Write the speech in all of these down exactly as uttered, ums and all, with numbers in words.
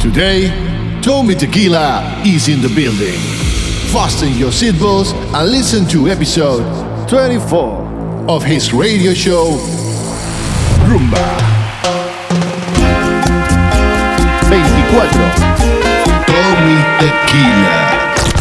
Today, Tommy Tequila is in the building. Fasten your seatbelts and listen to episode twenty-four of his radio show, Rumba. veinticuatro. Tommy Tequila.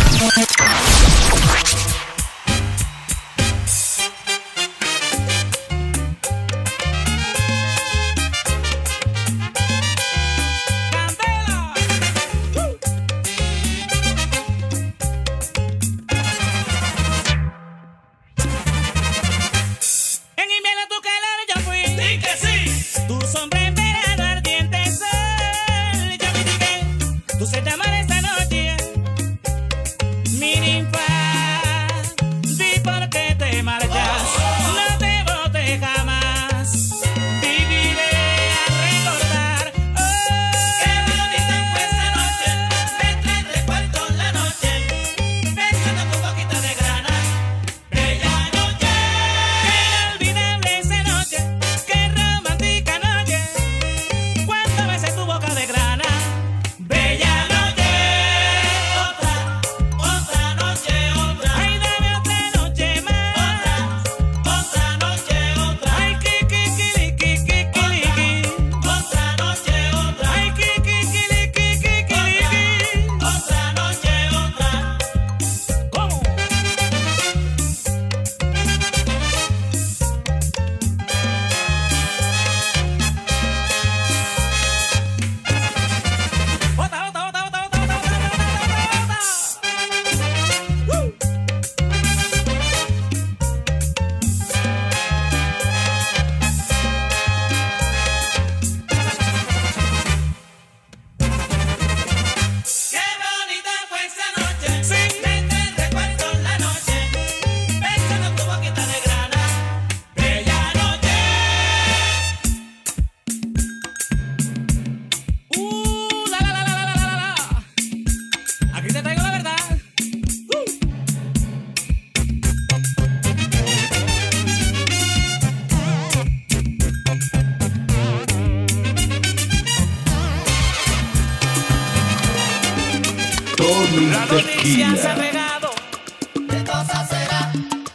La noticia se ha regado, ¿qué cosa será?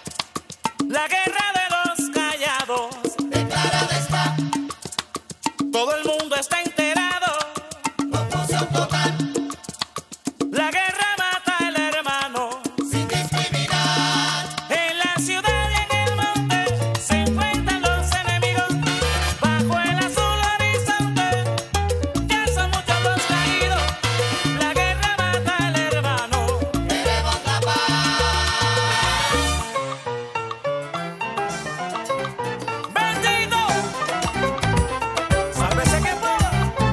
La guerra de los callados, declarada está. Todo el mundo está enterado, confusión total. La guerra mata al hermano, sin discriminar. En la ciudad y en el monte se enfrentan los enemigos. Bajo el azul horizonte, ya son muchos los caídos. La guerra mata al hermano, queremos la paz. Bendito, sálvese que pueda.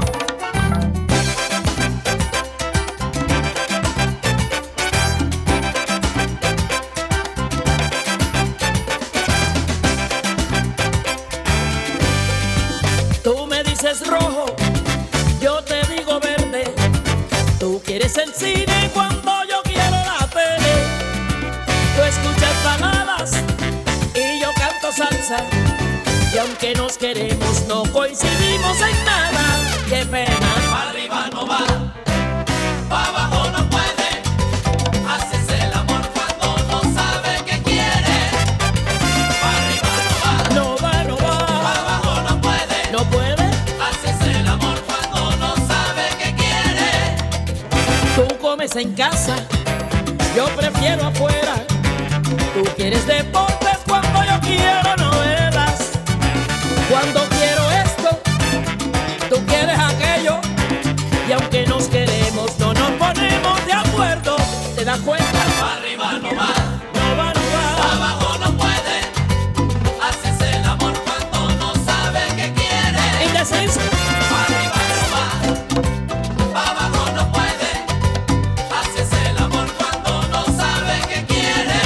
Tú me dices rojo, yo te digo verde. Tú quieres el cine cuando yo quiero la tele. Tú escuchas baladas y yo canto salsa. Y aunque nos queremos, no coincidimos en nada. ¡Qué pena! Pa' arriba no va, pa' abajo no puede. Haces el amor cuando no sabe qué quiere. Pa' arriba no va, no va, no va. Pa' abajo no puede, no puede. Haces el amor cuando no sabe qué quiere. Tú comes en casa, yo prefiero afuera. Tú quieres deportes cuando yo quiero novelas. Cuando quiero esto, tú quieres aquello. Y aunque nos queremos, no nos ponemos de acuerdo. ¿Te das cuenta? Pa' arriba no va, no va, no va. Pa' abajo no puede. Haces el amor cuando no sabe qué quiere. Indeciso. Pa' arriba no va, pa' abajo no puede. Haces el amor cuando no sabe qué quiere.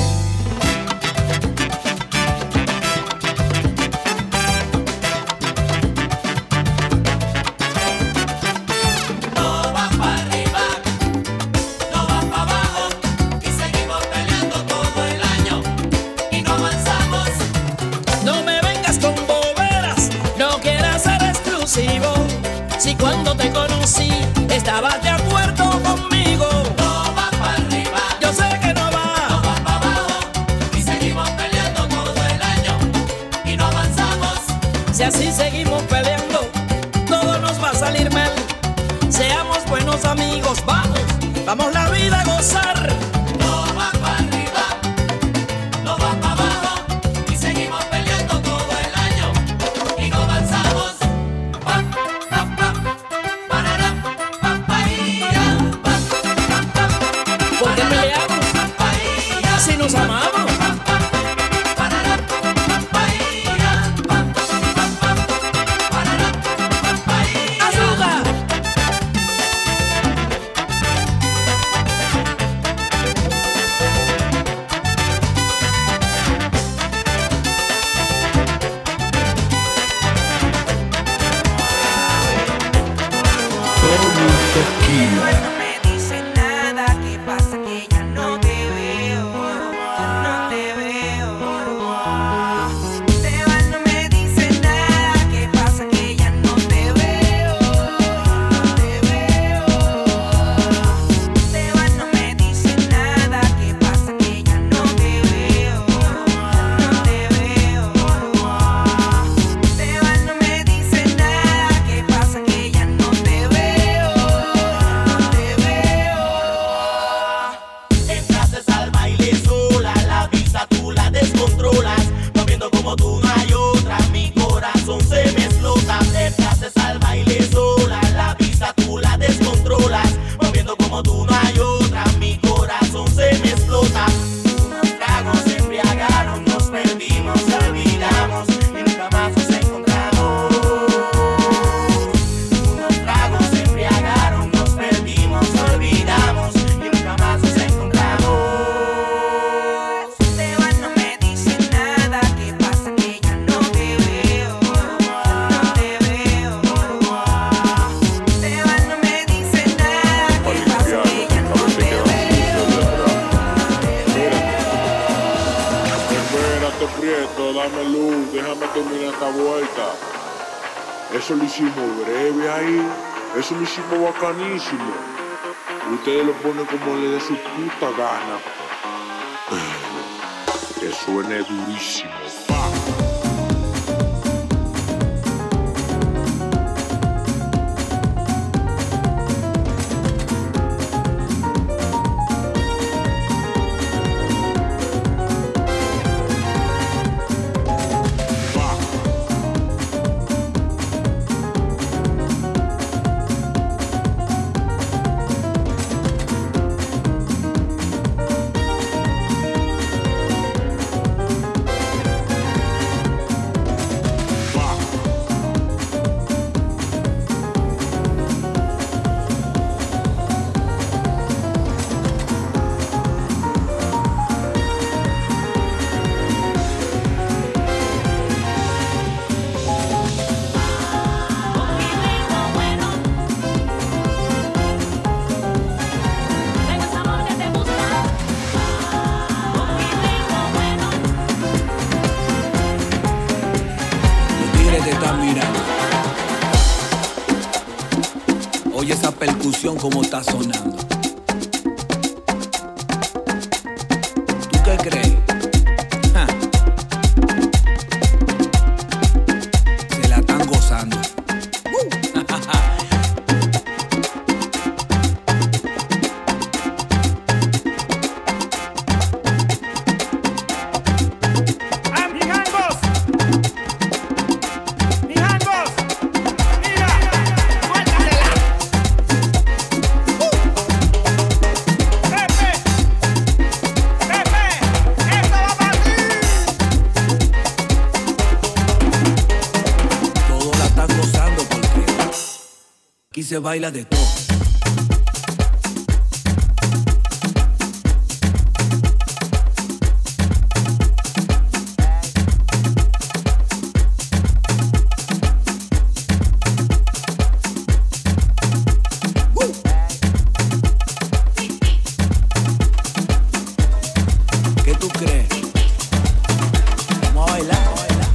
No va pa' arriba, no va pa' abajo. Y seguimos peleando todo el año y no avanzamos. No me vengas con boberas, no quieras ser exclusivo. Si cuando te conocí estabas de acuerdo conmigo. No va para arriba, Yo sé que no va. no va para abajo. Y seguimos peleando todo el año y no avanzamos. Si así seguimos peleando, todo nos va a salir mal. Seamos buenos amigos, vamos, vamos la vida a gozar. No va para arriba, no va para abajo. Y seguimos peleando todo el año y no avanzamos. Pa, pa, pa, parará, pa, pa, ia, pa, pa, pa, ¿Por qué parará, peleamos pa, pa, ia, si nos amamos? pa, pa, parará, pa, pa, ia, pa, pa, pa, parará, pa, pa, ia. ¡Azúcar! Tommy Tequila. No me dice nada, ¿qué pasa? Que ya no te veo, ya no te veo. Te vas, no me dice nada, ¿qué pasa? Que ya no te veo, no te veo. Te vas, no me dice nada, ¿qué pasa? Que ya no te veo, no te veo. Te vas, no me dice nada, ¿qué pasa? Que ya no te veo. Entraste al baile sola, la vista tú la descontrolas, moviendo como tú no hay otra, mi corazón se me explota. Entraste al baile sola, la vista tú la descontrolas, moviendo como tú no hay otra, mi corazón se me explota. Unos tragos se embriagaron, nos perdimos, olvidamos y nunca más nos encontramos. Unos tragos se embriagaron, nos perdimos, olvidamos y nunca más nos encontramos. Te vas, no me dice nada, ¿qué pasa? Que ya no te veo, no te veo. Te vas, no me dice nada, ¿qué pasa? Que ya no te veo. Espérate, Prieto, dame luz, déjame terminar esta vuelta. Eso lo hicimos breve ahí, eso lo hicimos bacanísimo. Ustedes lo ponen como le dé su puta gana. Que suene durísimo. Pa. Tengo ese amor que te gusta, con mi ritmo bueno. Los tigres te están mirando. Oye esa percusión como está sonando. ¿Tú qué crees? Ja. Se la están gozando. Mijangos, mijangos, mira, suéltasela. Pepe, Pepe, esto va para ti. Todos la están gozando porque aquí se baila de todo. ¿Qué tú crees? Vamos a bailar, vamos a bailar.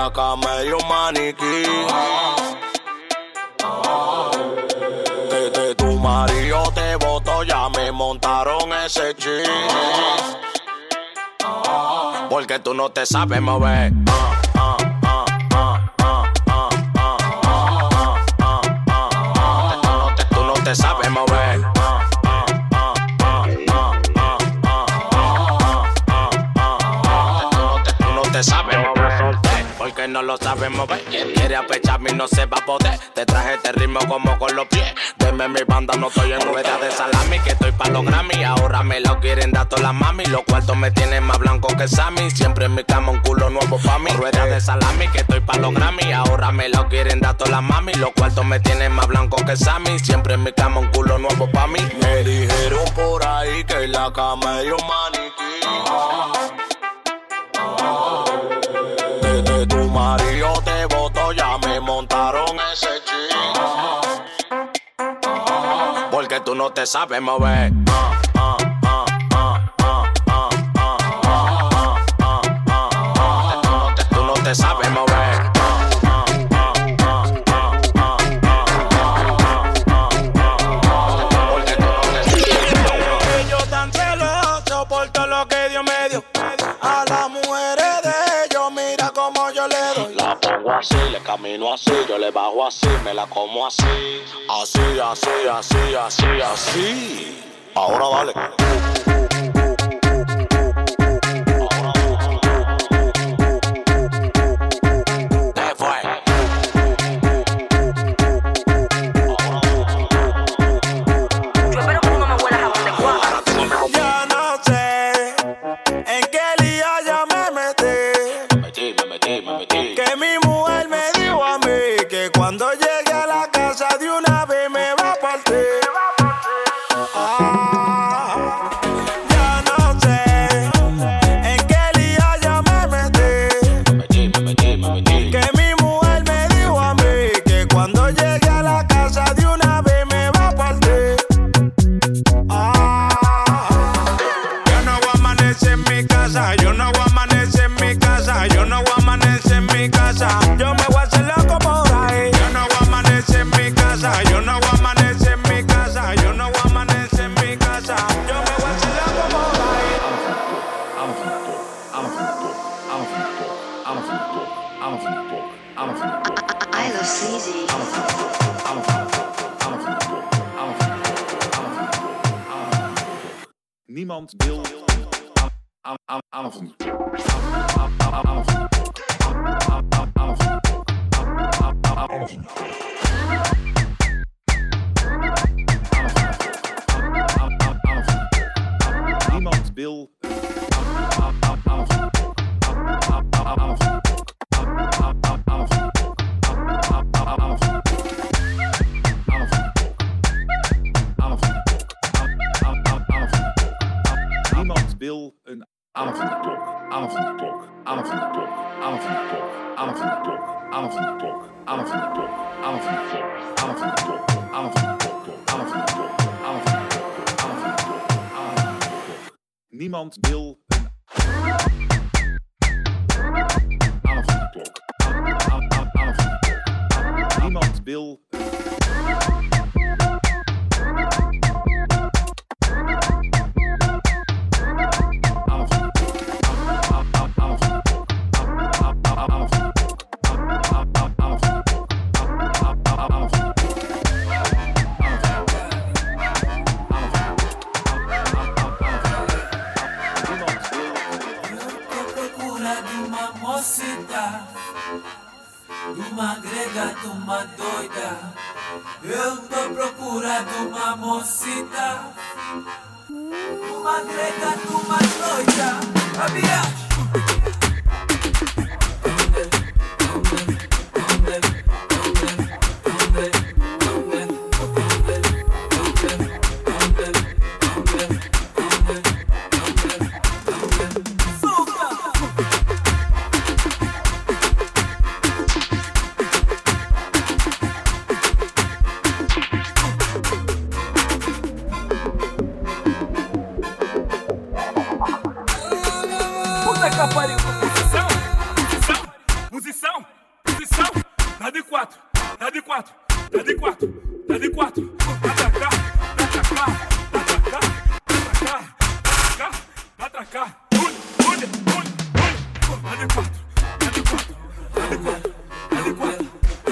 la cama y un maniquí. Que de tu marido te botó, ya me montaron ese chip. Porque tú no te sabes mover. Tú no te sabes mover. Tú no te sabes mover. Porque no lo sabes mover. Quien quiere apecharme y no se va a poder. Te traje este ritmo como con los pies. Deme mi banda, no estoy en rueda de salami. Que estoy pa' los Grammy. Ahora me lo quieren dar todas las mami. Los cuartos me tienen más blanco que Sammy. Siempre en mi cama un culo nuevo pa' mí. Rueda de salami, que estoy pa' los Grammy. Ahora me lo quieren dar todas las mami. Los cuartos me tienen más blanco que Sammy. Siempre en mi cama un culo nuevo pa' mí. Me dijeron por ahí que en la cama hay un maniquí. Desde tu marido te botó, ya me montaron ese chip. Porque tú no te sabes mover. Tú no te sabes mover. Porque tú no te sabes mover. Ellos tan celosos por todo lo que Dios me dio. A las mujeres de ellos, mira cómo yo le doy. La pongo así, le camino así, yo le bajo así, me la como así. Así, así, así, así, así. Ahora dale. ¿Qué fue? Yo espero que tú no me huelas a donde cuadra. Ya no sé en qué lío yo me metí. Me metí, me metí, me metí. Que mi mujer me dijo a mí que cuando llegue a la casa de una vez me va a partir. Ah, ya no sé en qué lío yo me metí. Me metí, me metí, me metí. Que mi mujer me dijo a mí que cuando llegue a la casa de una vez me va a partir. Ah, yo no voy a amanecer en mi casa, yo no voy a amanecer en mi casa, yo no voy a amanecer en mi casa. Yo me voy a hacer loco por ahí. Yo no voy a amanecer en mi casa, yo no voy a amanecer en mi casa, yo no voy a amanecer en mi casa. Yo me voy a hacer loco por ahí. I love C Z. Niemand wil aan aan avond. Niemand wil Niemand wil een avondklok, avondklok, avondklok, avondklok, avondklok, avondklok, avondklok, avondklok, avondklok, avondklok, avondklok, avondklok, avondklok. Niemand wil een avondklok, avondklok. Niemand wil Uma grega, uma doida. Eu tô procurando uma mocita. Uma grega, uma doida. A viagem. Puta dá de quatro, dá de quatro. Pra cá, pra cá, pra cá, pra cá, pra cá, pra cá. Ui, ui, ui, ui. Dá de quatro, dá de quatro, dá de quatro, dá de quatro.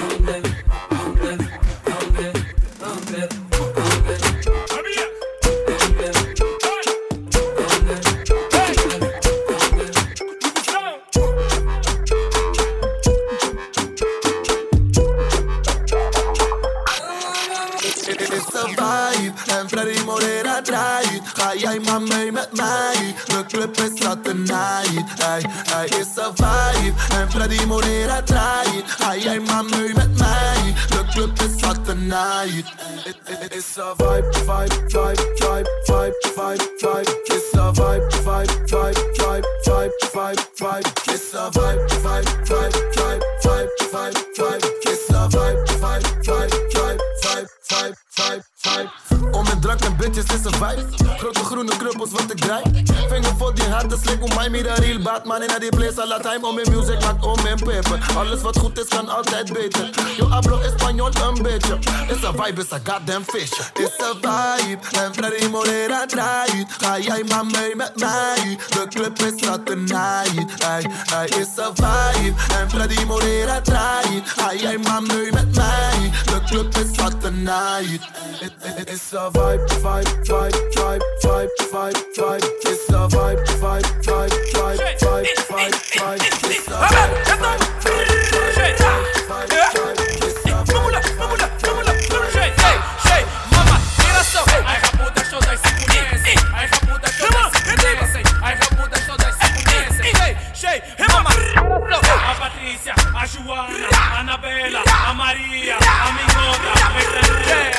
En Freddy Morera draait. Ga jij maar mee met mij? De club is zat tonight. Hey, hey, is een vibe. En Freddy Morera draait. Ga jij maar mee met mij? De club is zat tonight. It, it, it is a vibe, vibe, vibe, vibe, vibe, vibe, vibe. It's a vibe, vibe, vibe, vibe, vibe, vibe, vibe. It's a vibe, vibe, vibe, vibe, vibe, vibe, vibe. It's a vibe, vibe, vibe, vibe, vibe, vibe, vibe, vibe. Om en drank en bitches is een vibe. Grote groene kruppels wat ik draai. Vinger voor die harde slik om mij meer real Batman in die place all the time. Om in music maakt om in paper. Alles wat goed is kan altijd beter. Yo hablo Espanol een beetje. Is een vibe, is een goddamn fish. Is een vibe en Freddy Morera draait. Ga jij maar mee met mij? De club is zat tonight. Hey, hey, is een vibe en Freddy Morera draait. Ga jij maar mee met mij? De club is zat tonight. It, it, it is a vibe, vibe, vibe, vibe, vibe, vibe, vibe. It's a vibe, vibe, vibe, vibe, vibe, vibe, vibe. It's a vibe, vibe, vibe, vibe, vibe, vibe. It's a vibe, vibe, vibe, vibe. Mama, mira só. Ai, rapuda, todas se conhecem. Ai, rapuda, todas se conhecem. Ai, rapuda, todas se conhecem. Shey, mama, mira só. A Patrícia, a Joana, a Anabela, a Maria, a Minhoca, a Metralha.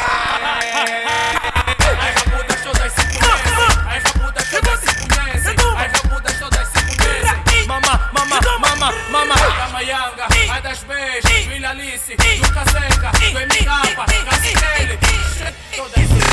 Ai, rapuda, todas se conhecem. Ai, rapuda, todas se conhecem. Ai, rapuda, todas se conhecem. Mama, mama, mama, mama. A Mayanga, a das beijos, Vila Alice, do Casenga, do M K, Casinelli. Todas se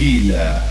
Tequila.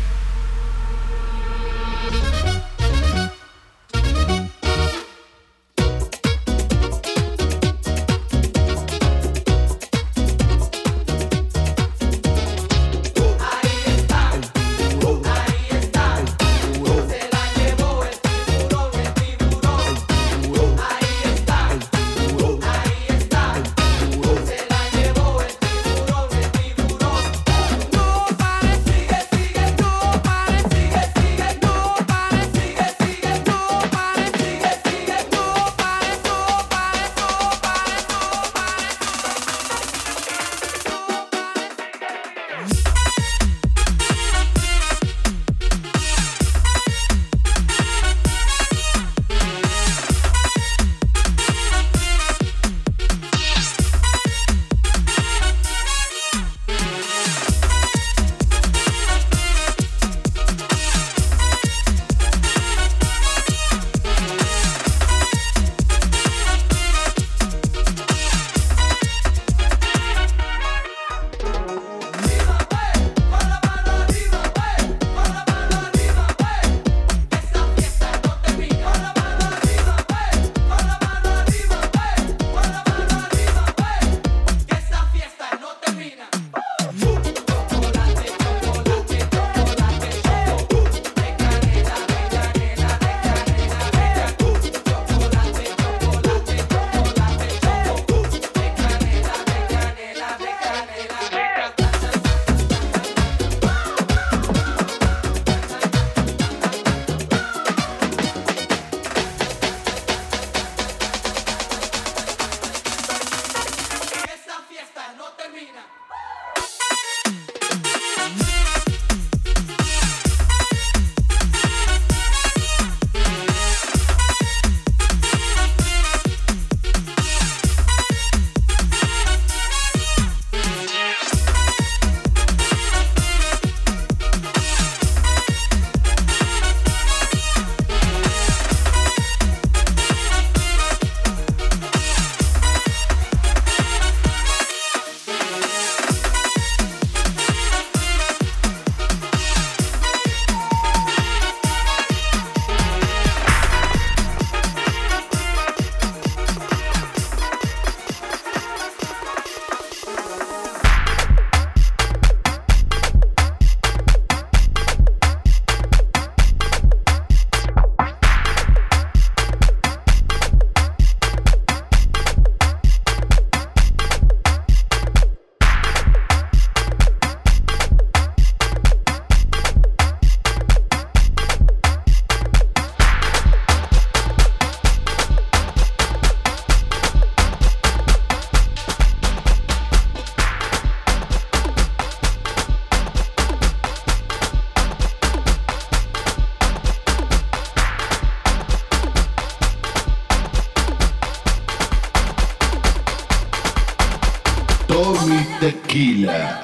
Tommy Tequila.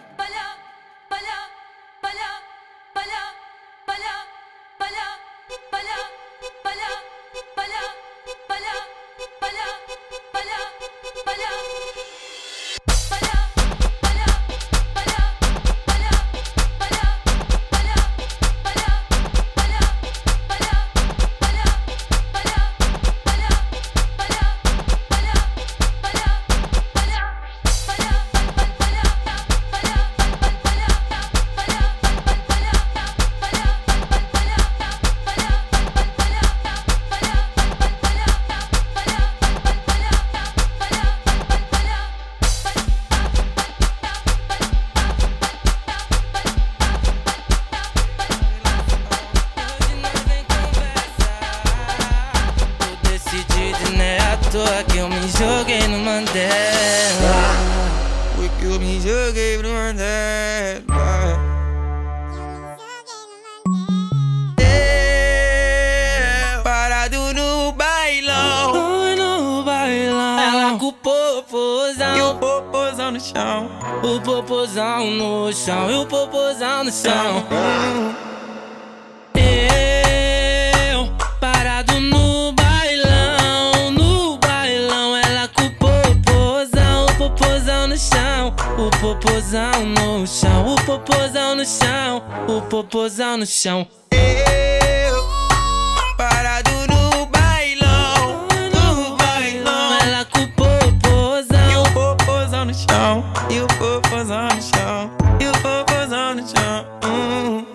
Que eu me joguei no Mandela. Foi que eu me joguei no Mandela. Eu, parado no bailão, no bailão. Ela com o popozão e o popozão no chão. O popozão no chão e o popozão no chão. Eu, parado no bailão, no bailão. Ela com o popozão, o popozão no chão. O popozão no chão, o popozão no chão, o popozão no chão. Eu parado no bailão, no bailão. Ela com o popozão e o popozão no chão, e o popozão no chão, e o popozão no chão. Hum.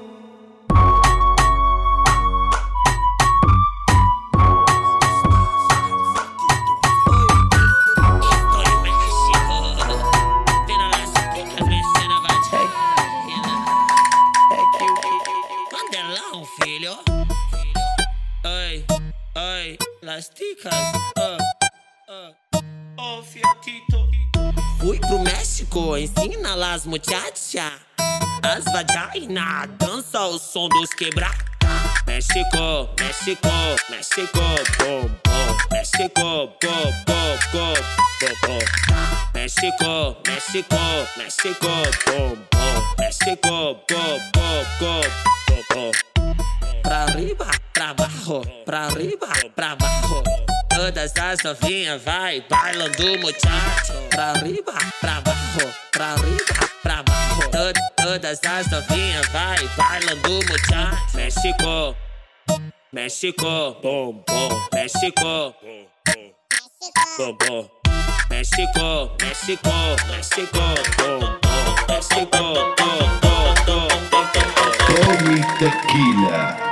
Filho, oi, oi, las ticas, uh, uh, oh fiatito. Fui pro México, ensina las muchachas, as vagina, dança o som dos quebrar. México, México, México, bom, bom, México, bom, bom, bom, bom, bom. México, México, México, bom, bom, México, bom, bom, bom, bom, bom. Pra arriba, pra baixo, pra arriba, pra baixo. Todas as novinhas vai bailando muchacho. Pra arriba, pra baixo, pra arriba, pra baixo. Tod todas as novinhas vai bailando muchacho. México, México, bom, bom, México, bom, bom. México, México, México, bom, bom, México, bom, bom, bom, bom. Tommy Tequila.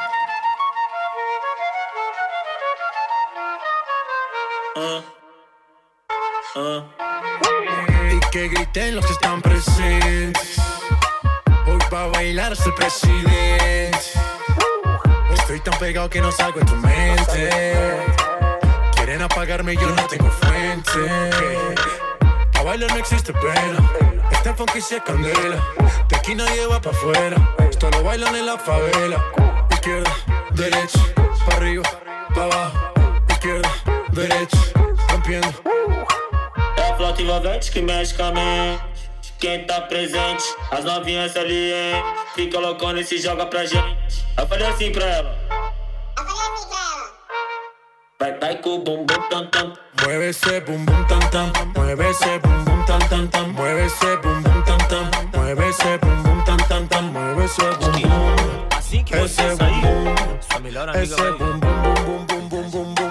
Uh, uh. Y que griten los que están presentes. Hoy va a bailar hasta el presidente. Estoy tan pegado que no salgo en tu mente. Quieren apagarme y yo no tengo fuente. A bailar no existe pena. Este funky se candela. De aquí nadie va pa' afuera. Esto lo bailan en la favela. Izquierda, derecha, pa' arriba, pa' abajo. Izquierda, derecha, rompiendo. É a flauta envolvente que mexe com a mente. Quem tá presente, as novinhas ali, hein? Fica loucona e se joga pra gente. Eu falei assim pra ela. Eu falei assim pra ela. Vai, vai com o bum bum tam tam. Mueve ese bum bum tam tam. Mueve ese bum bum tam tam tam. Mueve ese bum bum tam tam. Mueve ese bum bum tam tam tam. Mueve ese bum bum. Assim que você sair, sua melhor amiga vai bum bum bum bum bum bum bum.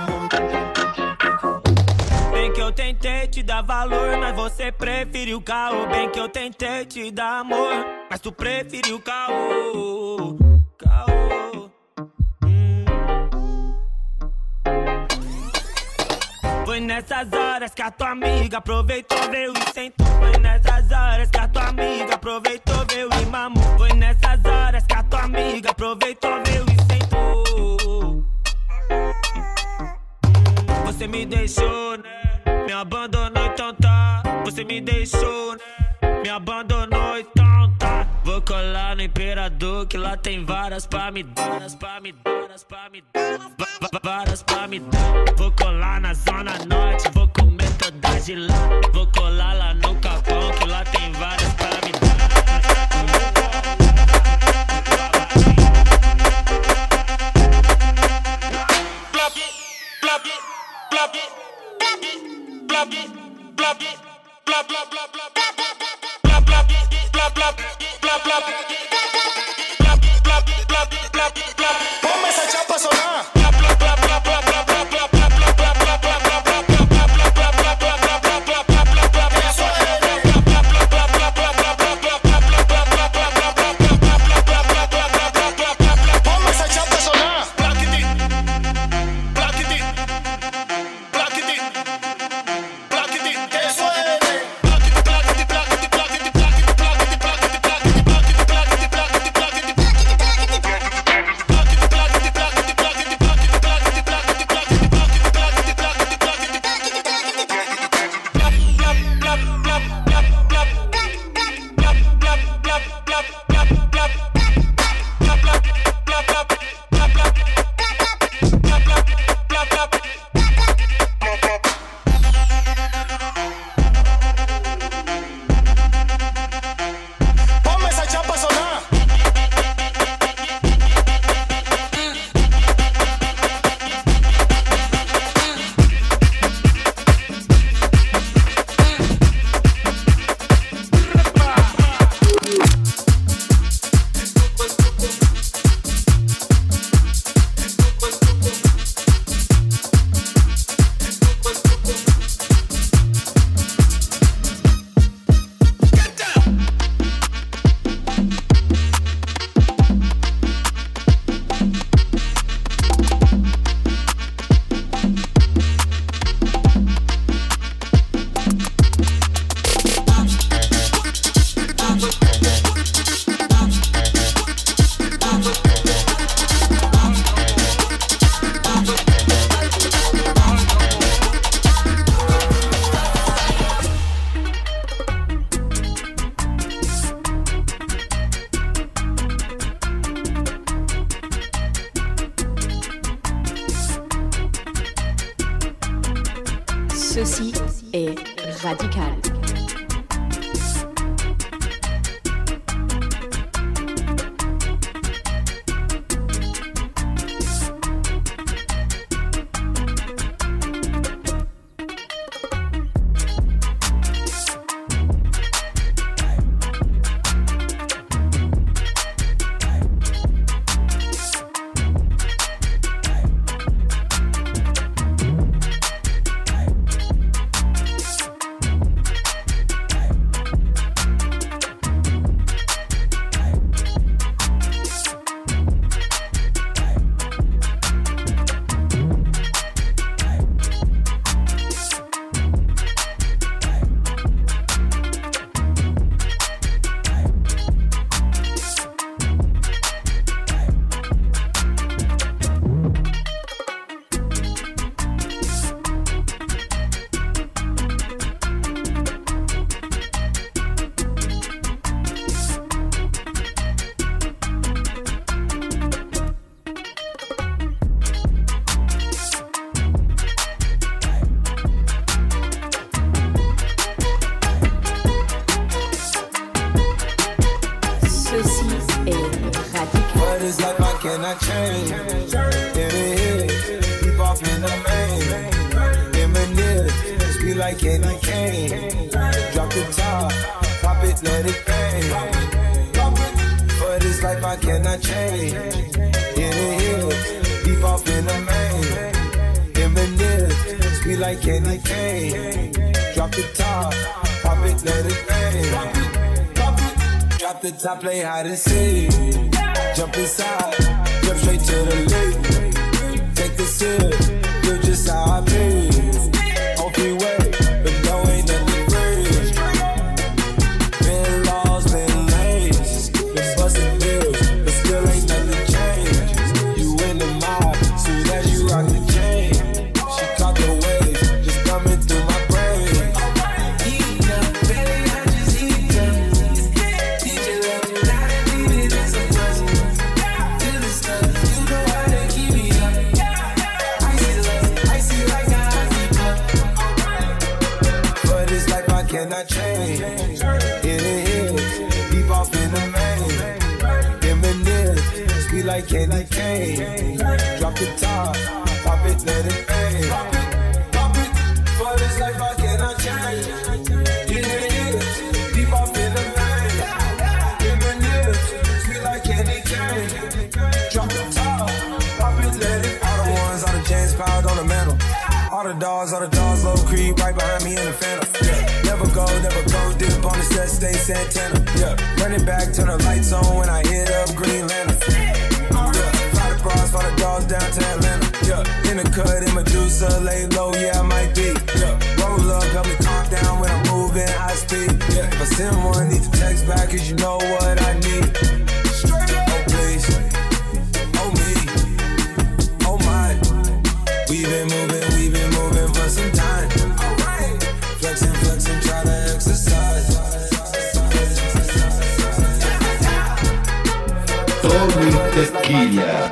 Bem que eu tentei te dar valor, mas você preferiu caô. Bem que eu tentei te dar amor, mas tu preferiu caô. Caô. Hum. Foi nessas horas que a tua amiga aproveitou, veio e sentou. Foi nessas horas que a tua amiga aproveitou, veio e mamou. Foi nessas horas que a tua amiga aproveitou, veio e sentou. Você me deixou, né? Me abandonou, então tá. Você me deixou, né? Me abandonou, então tá. Vou colar no Imperador, que lá tem varas pra me dar, varas pra me dar, varas pra me dar, varas pra me dar. Vou colar na Zona Norte, vou comer todas de lá. Vou colar lá no Capão, que lá tem varas pra me dar. Ponme esa chapa a sonar. Ceci est Radical. cannot change. In the head, deep off in the main. Eminem, speed like candy cane. Drop the top, pop it, let it bang. For this life I cannot change. In the head, deep off in the main. Eminem, speed like candy cane. Drop the top, pop it, let it bang. Drop the top, play hide and seek. Jump inside, jump straight to the lake. Take the sip, feel just how I feel. On freeway, but no ain't nothing free. Been lost, been lanes, been busting bills, but still ain't nothing changed. You in the mob, soon as you rock the chain. She caught the waves, just coming through my brain. Heat up, baby, I just heat up. Did you love me? Not a needed as a puzzle. Feel the stuff, you know how to keep me up. Icy love, icy like a hockey puck. For this life I cannot change. In the hills, deep off in the main. Eminem, speed like candy cane. Drop the top, pop it, let it bang. Pop it, pop it. For this life I cannot change. In the hills, deep off in the main. Eminem, speed like candy cane. Drop the top, pop it, let it. All the ones, all the James piled on the mantle. All the dogs, all the dogs, low creep right behind me in the phantom. Yeah. Never go, never go, dip on the set, stay Santana. Yeah, running back, turn the lights on when I hit up Green Lantern. Yeah, fly the bras, fly the dogs down to Atlanta. Yeah, in the cut, in Medusa, lay low, yeah, I might be. Yeah, roll up, help me calm down when I'm moving high speed. Yeah, if I send one, need to text back, cause you know what I need. Oh, please, oh, me, oh, my. We've been moving, we've been moving for some time. Alright. Flexing, flexing, try to exercise. Tommy Tequila.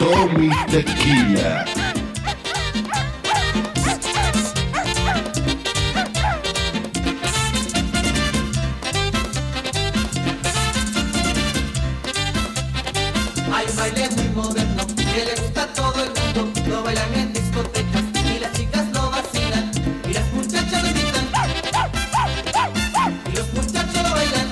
Tommy Tequila. Hay un baile muy moderno que le gusta a todo el mundo. Lo bailan en discotecas y las chicas lo vacilan. Y las muchachas lo gritan y los muchachos lo bailan.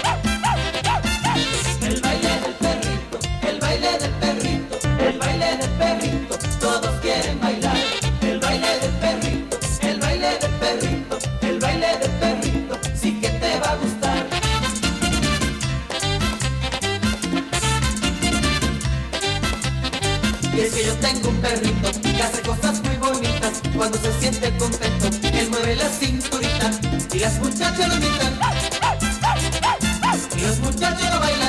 El baile del perrito, el baile del perrito, el baile del perrito. Todos quieren bailar. El baile del perrito, el baile del perrito, el baile del perrito. Sí que te va a gustar. Y es que yo tengo un perrito que hace cosas muy bonitas. Cuando se siente contento, él mueve la cinturita y las muchachas lo imitan y los muchachos lo bailan.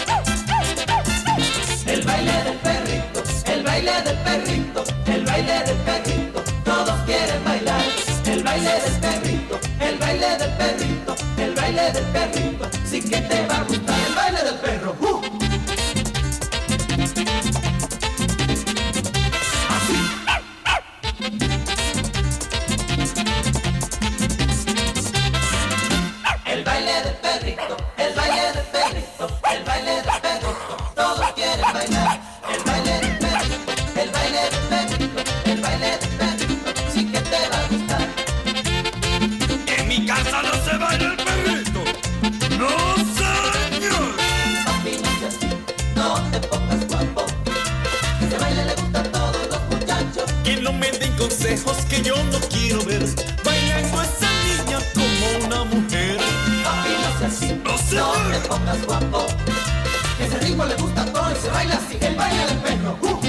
El baile del perrito, el baile del perrito, el baile del perrito. Todos quieren bailar. El baile del perrito, el baile del perrito, el baile del perrito. Sí que te va a gustar el baile del perro. ¡Uh! El baile del perrito, el baile del perrito, el baile del perrito. Todos quieren bailar. El baile del perrito, el baile del perrito, el baile del perrito. Sí que te va a gustar. En mi casa no se baila el perrito. No, señor. Papi, no seas así, no te pongas guapo. Ese baile le gusta a todos los muchachos. Que no me den consejos que yo no quiero ver. Bailando esa niña como una mujer. Papi, no seas así, no te pongas guapo. Ese ritmo le gusta a todos y se baila así. El baile del perro. ¡Uh!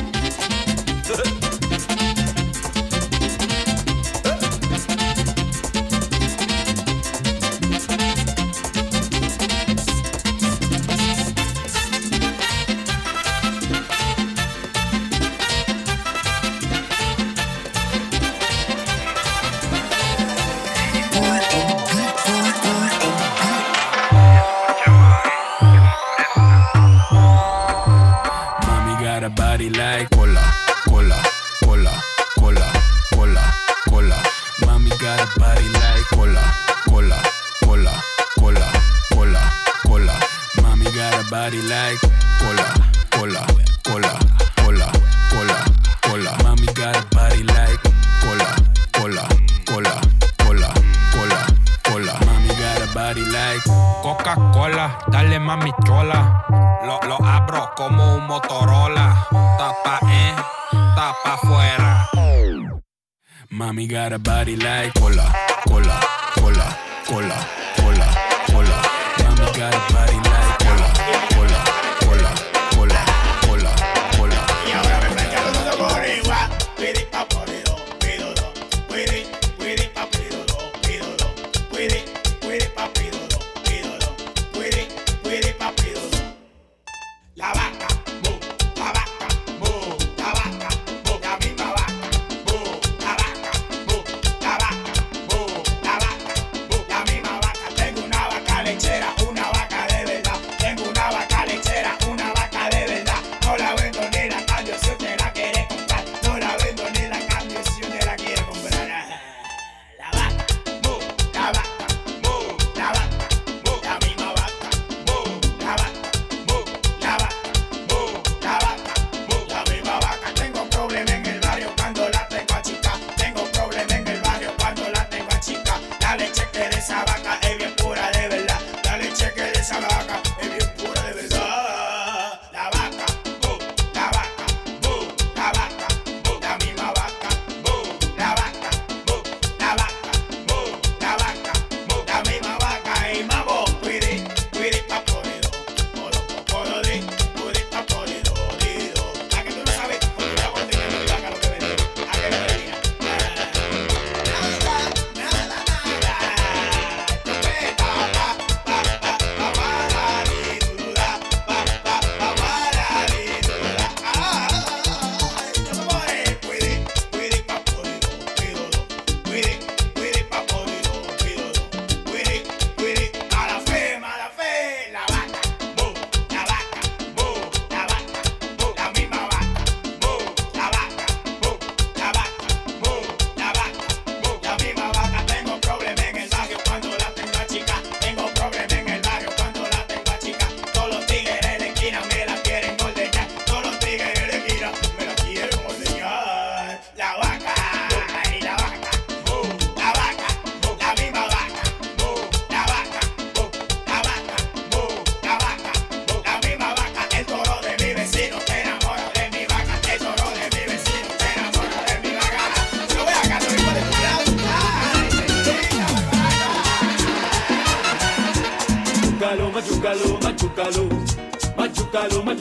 Mommy got a body like cola, cola, cola, cola, cola, cola. Mommy got a body like cola, cola, cola, cola, cola, cola. Mommy got a body like cola, cola, cola, cola, cola, cola. Mommy got a body like cola, cola, cola, cola, cola, cola. Mommy got a body like Coca-Cola, dale mami chola. Lo, lo abro como un Motorola. Tapa en, tapa afuera. Mommy got a body like cola, cola, cola, cola, cola, cola. Mommy got a body like cola, cola, cola, cola, cola, cola. Y ahora me está echando por igual. Pidi pa porido, pídolo. Pidi, pidi pa pídolo, pídolo. Pidi, pidi pa pídolo, pídolo. Pidi, pidi pa pídolo. La vaca, mu, la vaca, mu, la vaca, mu, la misma vaca, mu, la vaca, mu, la vaca, mu, la vaca, mu, la misma vaca. Tengo una vaca lechera, una vaca de verdad.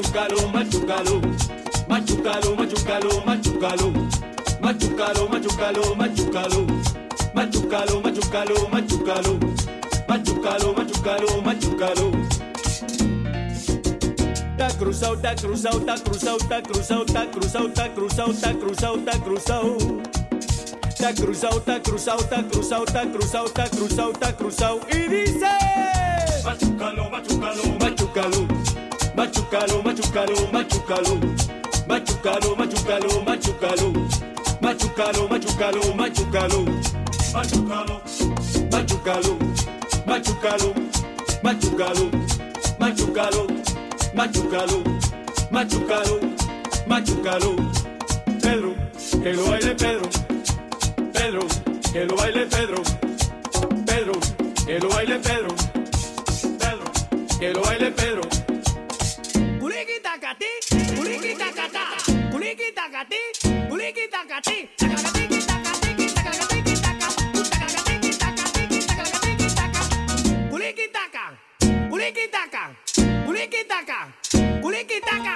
machucalo, machucalo, machucalo, machucalo, machucalo, machucalo, machucalo, machucalo, machucalo, machucalo, machucalo, machucalo, machucalo, machucalo. Ta cruzado, ta cruzado, ta cruzado, ta cruzado, ta cruzado, ta cruzado, ta cruzado, ta cruzado. Ta cruzado, ta cruzado, ta cruzado, ta cruzado, ta cruzado, ta cruzado. Y dice: machucalo, machucalo, machucalo, machucalo, machucalo, machucalo, machucalo, machucalo, machucalo, machucalo, machucalo, machucalo, machucalo, machucalo, machucalo, machucalo, machucalo, machucalo, machucalo, machucalo. Pedro, que lo baile Pedro. Pedro, que lo baile Pedro. Pedro, que lo baile Pedro. Pedro, que lo baile Pedro. Culiki tacati, culiki tacata, culiki tacati, culiki tacati. Culiki taca, culiki taca, culiki taca, culiki taca.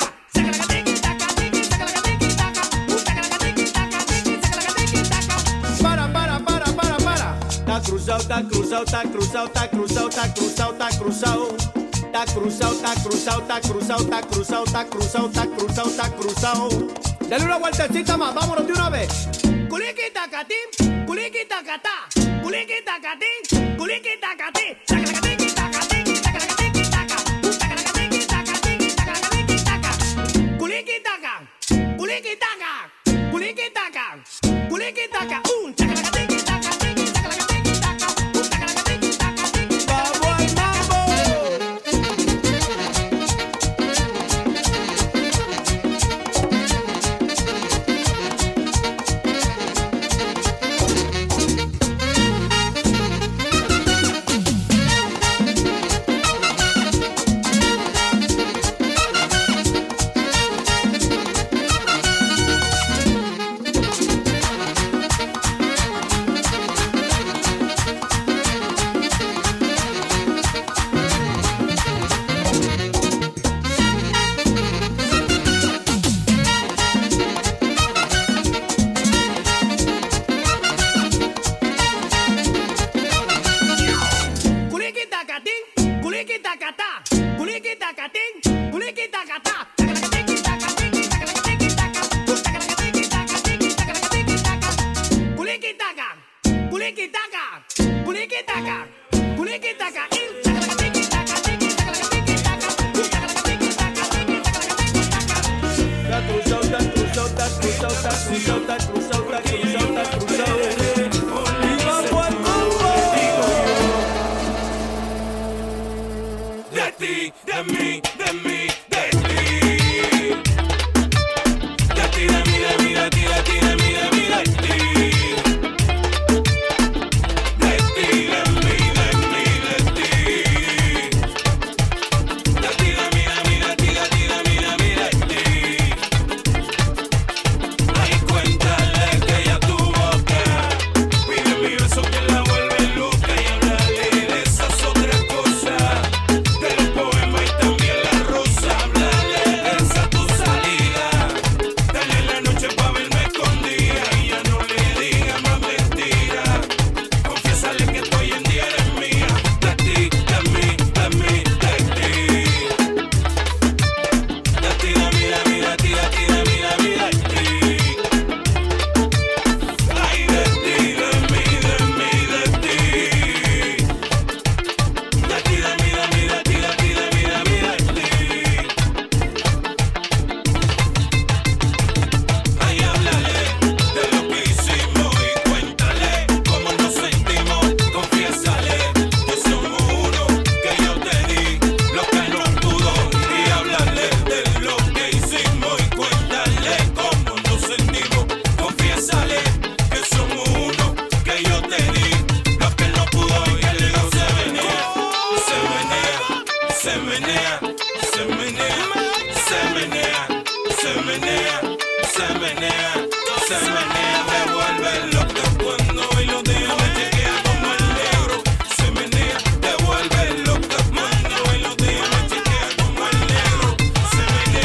Ta cruzado, ta cruzado, ta cruzado, ta cruzado, ta cruzado, ta cruzado. Ta cruzado, ta cruzado, ta cruzado, ta cruzado, ta cruzado, ta cruzado, ta cruzado. Dale una vueltecita más, vámonos de una vez. Culiki tacatín, culiki tacatá, culiki tacatín, culiki tacatí. Culiki taca, culiki taca, culiki taca, culiki taca. Un chacalacatín. Se menea,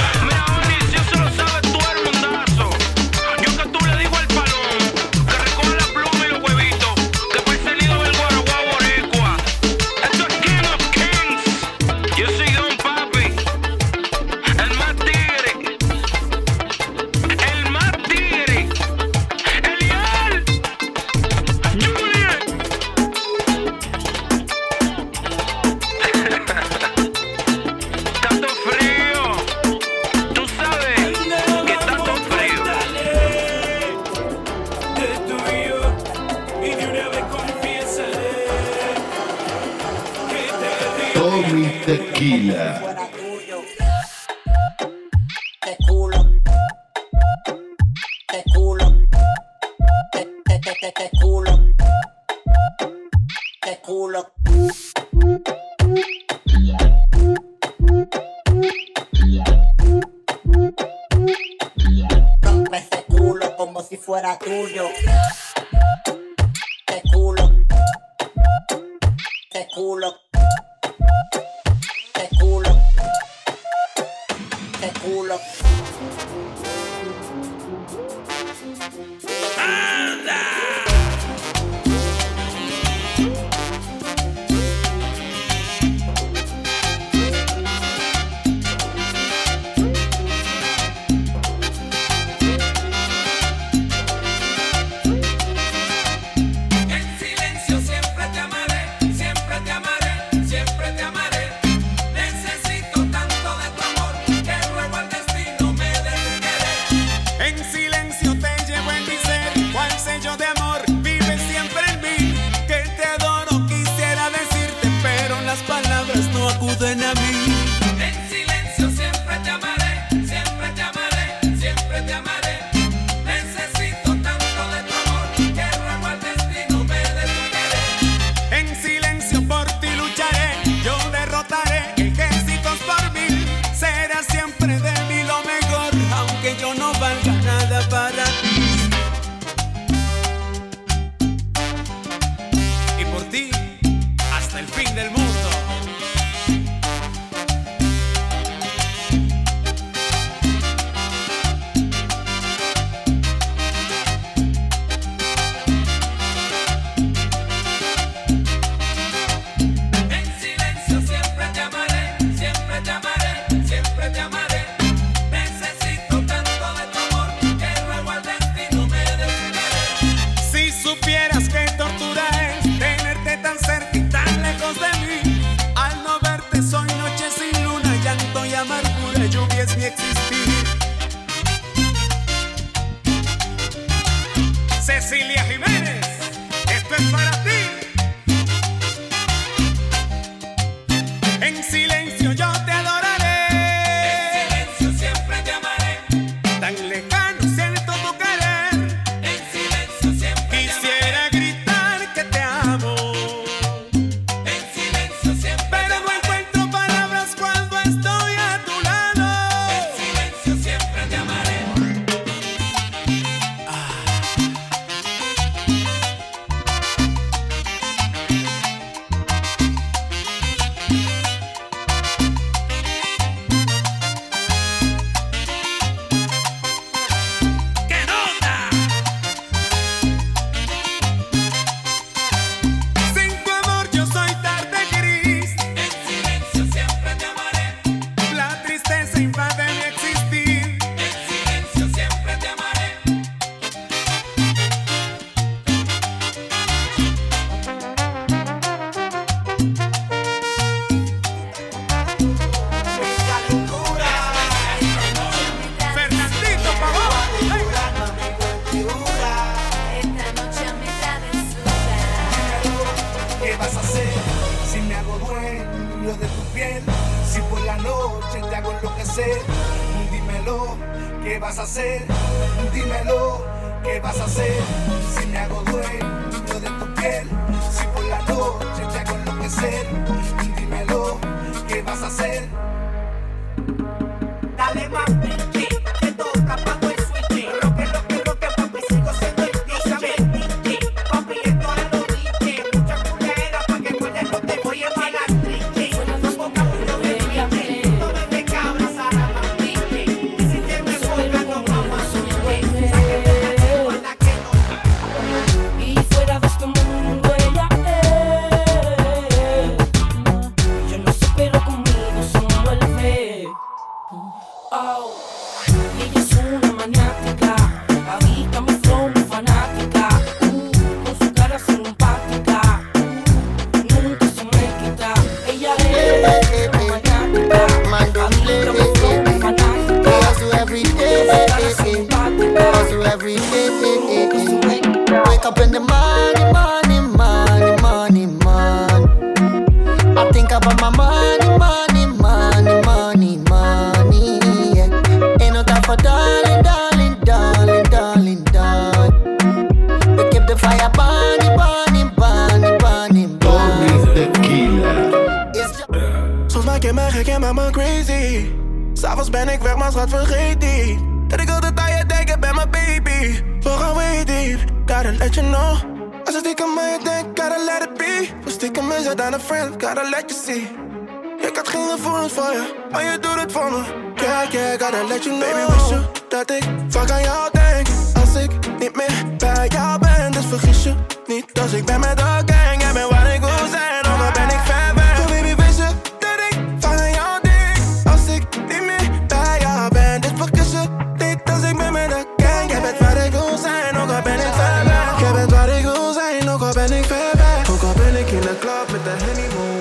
Tequila. Qué culo. Qué culo. Qué, qué, qué, qué, qué culo. Qué culo. Rompe ese culo como si fuera tuyo. Qué culo. Qué culo. Qué culo. Qué culo. En silencio siempre te amaré, siempre te amaré, siempre te amaré. Necesito tanto de tu amor que ruego al destino me dé tu querer. En silencio te llevo en mi ser, cual sello de amor vive siempre en mí. Que te adoro quisiera decirte, pero las palabras no acuden a mí. En silencio siempre te amaré, siempre te amaré, siempre te amaré. Necesito tanto de tu amor que ruego al destino me dé tu querer. En silencio por ti lucharé, yo derrotaré ejércitos por mil. Será siempre de mí lo mejor, aunque yo no valga nada para ti. Y por ti, hasta el fin del mundo. En silencio siempre te amaré, siempre te amaré, siempre te amaré. Necesito tanto de tu amor que ruego al destino me dé tu querer. Si supieras que tortura es tenerte tan cerca y tan lejos de mí. Al no verte soy noche sin luna, llanto y amargura, lluvia es mi existir. Cecilia Jiménez, esto es para ti. En silencio yo te adoraré. En silencio siempre te amaré. Tan lejano siento tu querer. En silencio siempre te Quisiera gritar que te amo, amaré. En silencio siempre pero te no amaré. encuentro palabras cuando estoy a tu lado. En silencio siempre te amaré. ¡Qué nota! Sin tu amor yo soy tarde gris. En silencio siempre te amaré. La tristeza invade mi existir. En silencio siempre te amaré. Fernandito Pavón. Esta noche me da de ¿Qué vas a hacer si me hago dueño de tu piel? Si por la noche te hago enloquecer, dímelo, ¿qué vas a hacer? Dímelo, ¿qué vas a hacer si me hago dueño de tu piel? Si por la noche te hago enloquecer, dímelo, ¿qué vas a hacer? Dale mami, te toca, pago el switch. Roque, roque, roque, papi, sigo siendo el D J. Papi, esto es lo dije. Mucha culera pa' que muerde, no te voy a pagar trique. No ponga puro bebé, no me de cabra, Sara, mami. Y si te me vuelve, no vamos a subir. Sáquete la que guarda que no. Y fuera de este mundo ella es. Yo no sé, pero conmigo se envuelve. Oh. Y ella es una maniática, adicta a mi flow, muy fanática. Uh, con su cara simpática, uh, nunca se me quita. Ella es una maniática, adicta a mi flow, muy fanática. Every day, hustle every day. Wake up in the morning, morning, morning, morning, morning. I think about my money, money, for darling, darling, darling, darling, darling. We keep the fire burning, burning, burning, burning, burning. Tequila. Soms maak je me gek en maak me crazy. S'avonds ben ik weg, maar schat vergeet die. Dat ik altijd aan je denk, ik ben mijn baby. We gaan way deep, gotta let you know. Als ik stiekem aan je denk, gotta let it be. Voor stiekem is het aan een friend, gotta let you see. Ik had geen gevoelens voor je, maar je doet het voor me. Yeah, yeah, gotta let you know. Baby, wist je dat ik vaak aan jou denk. Als ik niet meer bij jou ben, dus vergis je niet. Als ik ben met de gang, jij bent waar ik wil zijn. Ook al ben ik ver weg. So baby, wist je dat ik vaak aan jou denk. Als ik niet meer bij jou ben, dus vergis je niet. Als ik ben met de gang, jij bent waar ik wil zijn. Ook al ben ik ver weg. Jij bent waar ik wil zijn, ook al ben ik ver weg. Ook al ben ik in de club met de Henny Moon.